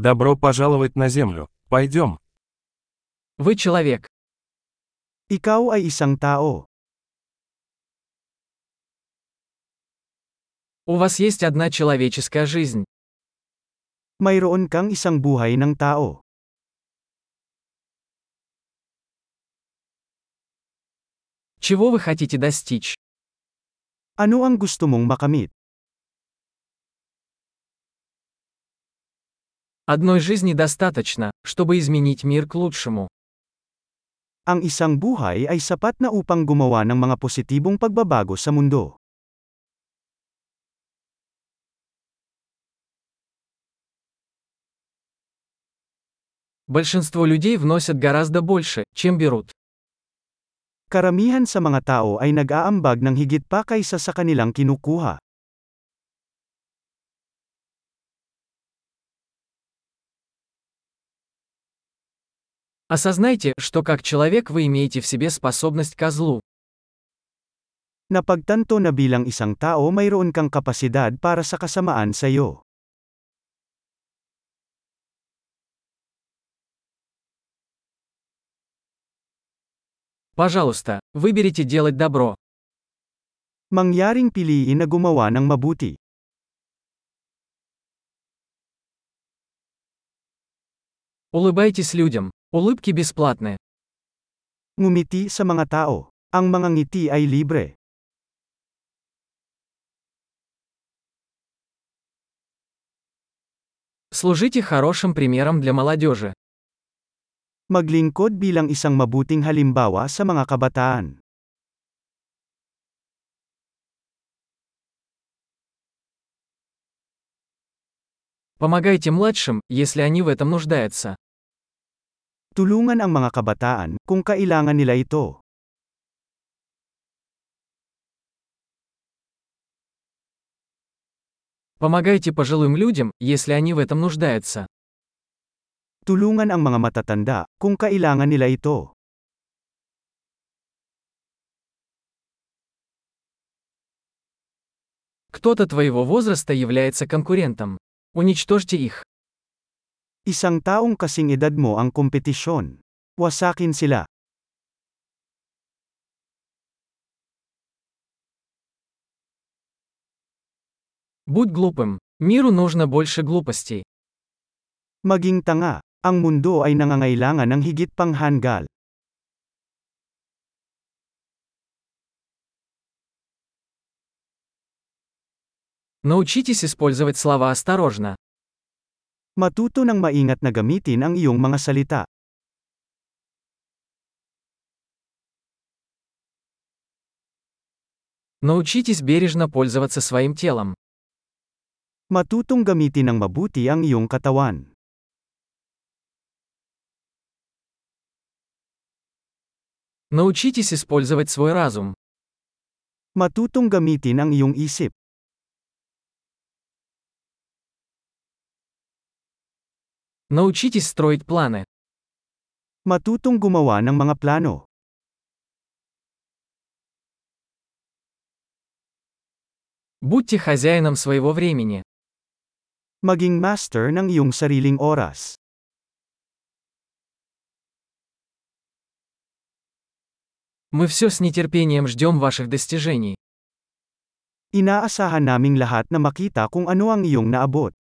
Добро пожаловать на Землю. Пойдем. Вы человек. Ikaw ay isang tao. У вас есть одна человеческая жизнь. Mayroon kang isang buhay ng tao. Чего вы хотите достичь? Ano ang gusto mong makamit? Одной жизни достаточно, чтобы изменить мир к лучшему. Ang isang buhay ay sapat na upang gumawa ng mga positibong pagbabago sa mundo. Большинство людей вносят гораздо больше, чем берут. Karamihan sa mga tao ay nag-aambag ng higit pa kaysa sa kanilang kinukuha. Осознайте, что как человек вы имеете в себе способность ко злу. Napagtanto na bilang isang tao mayroon kang kapasidad para sa kasamaan sa iyo. Пожалуйста, выберите делать добро. Mangyaring piliin na gumawa ng mabuti. Улыбайтесь людям. Улыбки бесплатны. Ngumiti sa mga tao. Ang mga ngiti ay libre. Служите хорошим примером для молодежи. Maglingkod bilang isang mabuting halimbawa sa mga kabataan. Помогайте младшим, если они в этом нуждаются. Tulungan ang mga kabataan, kung kailangan nila ito. Помогайте пожилым людям, если они в этом нуждаются. Tulungan ang mga matatanda, kung kailangan nila ito. Кто-то твоего возраста является конкурентом. Уничтожьте их. Isang taong kasing edad mo ang kompetisyon. Wasakin sila. Будь глупым. Миру нужно больше глупостей. Maging tanga. Ang mundo ay nangangailangan ng higit pang hanggal. Научитесь использовать слова осторожно. Matuto ng maingat na gamitin ang iyong mga salita. Научитесь бережно пользоваться своим телом. Matutong gamitin ng mabuti ang iyong katawan. Научитесь использовать свой разум. Matutong gamitin ang iyong isip. Научитесь строить планы. Matutong gumawa ng mga plano. Будьте хозяином своего времени. Maging master ng iyong sariling oras. Мы все с нетерпением ждем ваших достижений. Inaasahan naming lahat na makita kung ano ang iyong naabot.